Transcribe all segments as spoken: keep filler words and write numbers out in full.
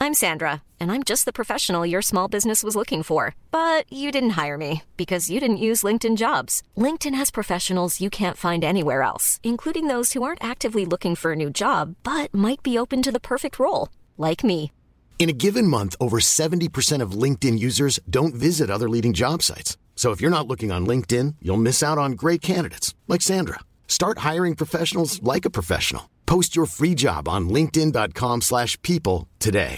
I'm Sandra, and I'm just the professional your small business was looking for. But you didn't hire me because you didn't use LinkedIn Jobs. LinkedIn has professionals you can't find anywhere else, including those who aren't actively looking for a new job, but might be open to the perfect role, like me. In a given month, over seventy percent of LinkedIn users don't visit other leading job sites. So if you're not looking on LinkedIn, you'll miss out on great candidates like Sandra. Start hiring professionals like a professional. Post your free job on linkedin.com slash people today.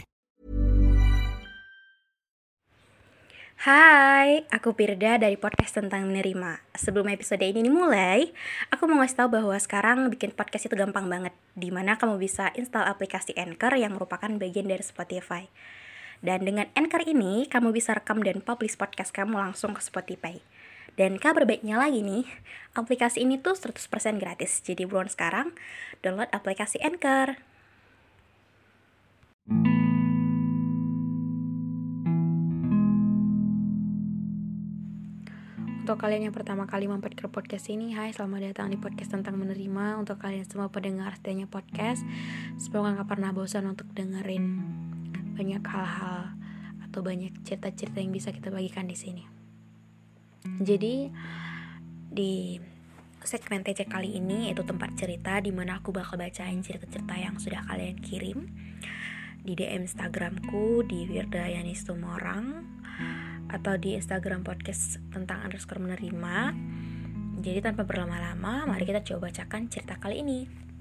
Hai, aku Pirda dari podcast tentang menerima. Sebelum episode ini dimulai, aku mau ngasih tahu bahwa sekarang bikin podcast itu gampang banget, dimana kamu bisa install aplikasi Anchor yang merupakan bagian dari Spotify. Dan dengan Anchor ini, kamu bisa rekam dan publish podcast kamu langsung ke Spotify. Dan kabar baiknya lagi nih, aplikasi ini tuh seratus persen gratis. Jadi buruan sekarang, download aplikasi Anchor. Untuk kalian yang pertama kali mampir ke podcast ini, hai, selamat datang di podcast tentang menerima. Untuk kalian semua pendengar setianya podcast, semoga gak pernah bosan untuk dengerin banyak hal-hal atau banyak cerita-cerita yang bisa kita bagikan di sini. Jadi di segmen T C kali ini itu tempat cerita, di mana aku bakal bacain cerita-cerita yang sudah kalian kirim di D M Instagramku di Wirda Yanis Tumorang atau di Instagram podcast tentang underscore menerima. Jadi tanpa berlama-lama, mari kita coba bacakan cerita kali ini.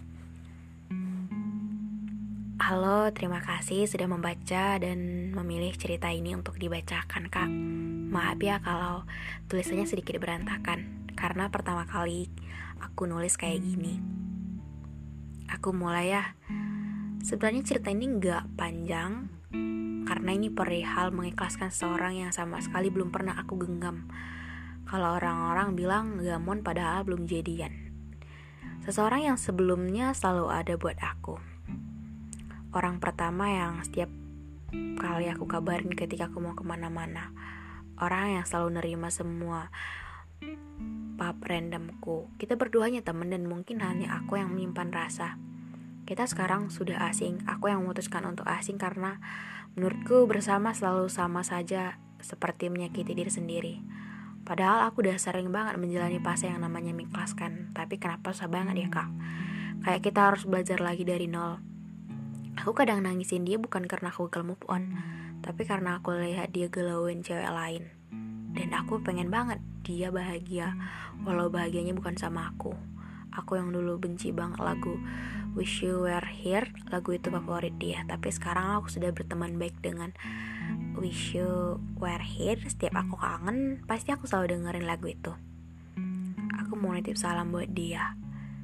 Halo, terima kasih sudah membaca dan memilih cerita ini untuk dibacakan, Kak. Maaf ya kalau tulisannya sedikit berantakan, karena pertama kali aku nulis kayak gini. Aku mulai ya. Sebenarnya cerita ini gak panjang, karena ini perihal mengikhlaskan seseorang yang sama sekali belum pernah aku genggam. Kalau orang-orang bilang gamon padahal belum jadian. Seseorang yang sebelumnya selalu ada buat aku. Orang pertama yang setiap kali aku kabarin ketika aku mau kemana-mana. Orang yang selalu nerima semua pap randomku. Kita berdua hanya teman dan mungkin hanya aku yang menyimpan rasa. Kita sekarang sudah asing. Aku yang memutuskan untuk asing karena menurutku bersama selalu sama saja, seperti menyakiti diri sendiri. Padahal aku udah sering banget menjalani fase yang namanya mengikhlaskan. Tapi kenapa susah banget ya, Kak? Kayak kita harus belajar lagi dari nol. Aku kadang nangisin dia bukan karena aku gagal move on, tapi karena aku lihat dia galauin cewek lain. Dan aku pengen banget dia bahagia, walau bahagianya bukan sama aku. Aku yang dulu benci banget lagu Wish You Were Here, lagu itu favorit dia. Tapi sekarang aku sudah berteman baik dengan Wish You Were Here. Setiap aku kangen, pasti aku selalu dengerin lagu itu. Aku mau nitip salam buat dia.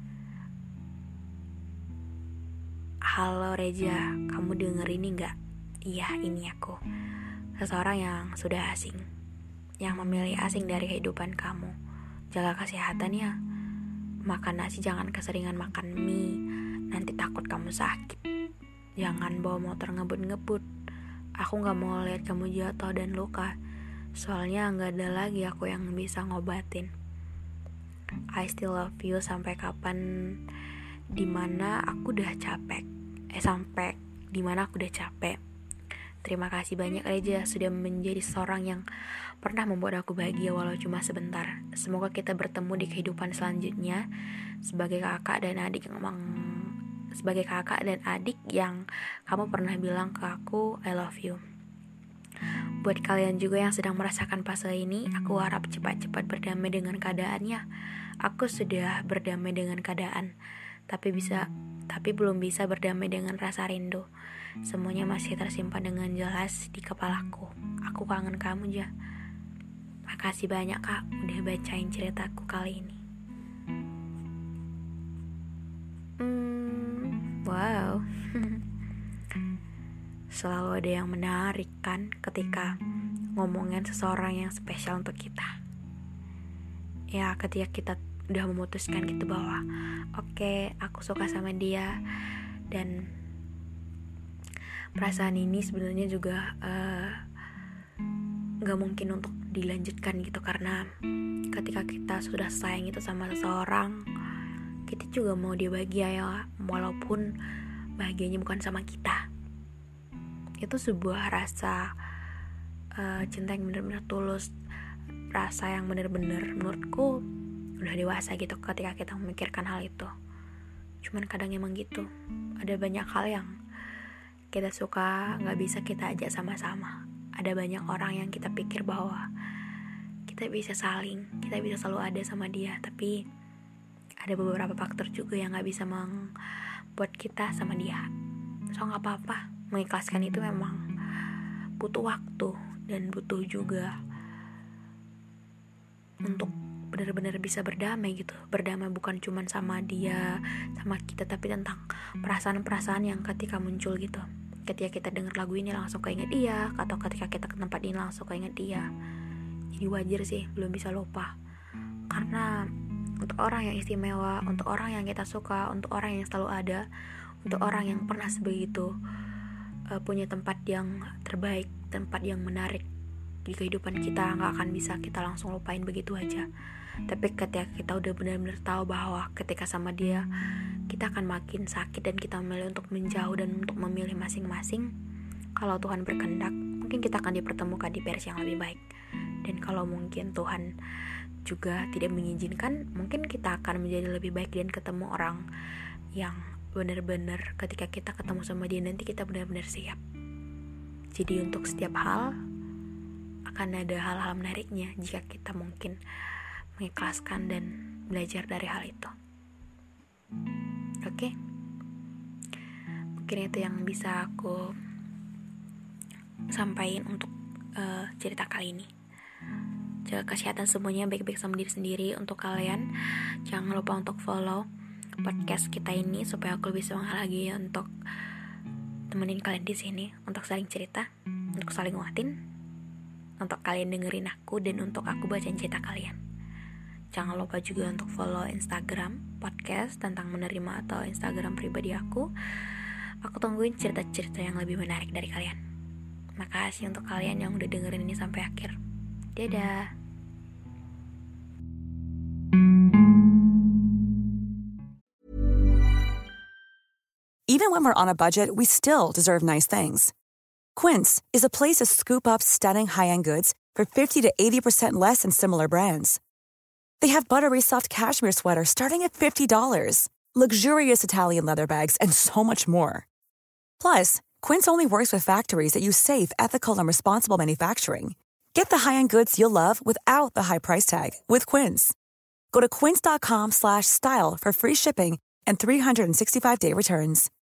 Halo Reja, kamu denger ini gak? Iya, ini aku. Seseorang yang sudah asing, yang memilih asing dari kehidupan kamu. Jaga kesehatan ya. Makan nasi jangan keseringan makan mie, nanti takut kamu sakit. Jangan bawa motor ngebut-ngebut. Aku gak mau lihat kamu jatuh dan luka. Soalnya gak ada lagi aku yang bisa ngobatin. I still love you sampai kapan, dimana aku udah capek. Eh sampai dimana aku udah capek. Terima kasih banyak Reja sudah menjadi seorang yang pernah membuat aku bahagia walau cuma sebentar. Semoga kita bertemu di kehidupan selanjutnya sebagai kakak dan adik yang emang sebagai kakak dan adik yang kamu pernah bilang ke aku I love you. Buat kalian juga yang sedang merasakan fase ini, aku harap cepat-cepat berdamai dengan keadaannya. Aku sudah berdamai dengan keadaan, tapi bisa tapi belum bisa berdamai dengan rasa rindu. Semuanya masih tersimpan dengan jelas di kepalaku. Aku kangen kamu, Ja. Makasih banyak, Kak, udah bacain ceritaku kali ini. Hmm, wow. Selalu ada yang menarik kan ketika ngomongin seseorang yang spesial untuk kita. Ya, ketika kita udah memutuskan gitu bahwa oke, okay, aku suka sama dia, dan perasaan ini sebenarnya juga uh, gak mungkin untuk dilanjutkan gitu, karena ketika kita sudah sayang itu sama seseorang, kita juga mau dia bahagia ya, walaupun bahagianya bukan sama kita. itu sebuah rasa uh, cinta yang benar-benar tulus, rasa yang benar-benar menurutku udah dewasa gitu ketika kita memikirkan hal itu. Cuman kadang emang gitu, ada banyak hal yang kita suka gak bisa kita ajak sama-sama. Ada banyak orang yang kita pikir bahwa kita bisa saling, kita bisa selalu ada sama dia, tapi ada beberapa faktor juga yang gak bisa membuat kita sama dia. So gak apa-apa, mengikhlaskan itu memang butuh waktu dan butuh juga untuk benar-benar bisa berdamai gitu. Berdamai bukan cuma sama dia, sama kita, tapi tentang perasaan-perasaan yang ketika muncul gitu. Ketika kita dengar lagu ini langsung keinget dia, atau ketika kita ke tempat ini langsung keinget dia. Jadi wajar sih belum bisa lupa. Karena untuk orang yang istimewa, untuk orang yang kita suka, untuk orang yang selalu ada, untuk orang yang pernah sebegitu uh, punya tempat yang terbaik, tempat yang menarik di kehidupan kita, gak akan bisa kita langsung lupain begitu aja. Tapi ketika kita udah benar-benar tahu bahwa ketika sama dia kita akan makin sakit dan kita memilih untuk menjauh dan untuk memilih masing-masing, kalau Tuhan berkehendak mungkin kita akan dipertemukan di versi yang lebih baik. Dan kalau mungkin Tuhan juga tidak mengizinkan, mungkin kita akan menjadi lebih baik dan ketemu orang yang benar-benar ketika kita ketemu sama dia nanti kita benar-benar siap. Jadi untuk setiap hal akan ada hal-hal menariknya jika kita mungkin mengikhlaskan dan belajar dari hal itu. Oke, okay? Mungkin itu yang bisa aku sampaikan untuk uh, cerita kali ini. Jaga kesehatan semuanya, baik-baik sama diri sendiri. Untuk kalian jangan lupa untuk follow podcast kita ini supaya aku lebih semangat lagi untuk temenin kalian di sini, untuk saling cerita, untuk saling nguatin, untuk kalian dengerin aku dan untuk aku bacain cerita kalian. Jangan lupa juga untuk follow Instagram podcast tentang menerima atau Instagram pribadi aku. Aku tungguin cerita-cerita yang lebih menarik dari kalian. Makasih untuk kalian yang udah dengerin ini sampai akhir. Dadah. Even when we're on a budget, we still deserve nice things. Quince is a place to scoop up stunning high-end goods for fifty to eighty percent less than similar brands. They have buttery soft cashmere sweaters starting at fifty dollars, luxurious Italian leather bags, and so much more. Plus, Quince only works with factories that use safe, ethical, and responsible manufacturing. Get the high-end goods you'll love without the high price tag with Quince. Go to quince.com slash style for free shipping and three sixty-five day returns.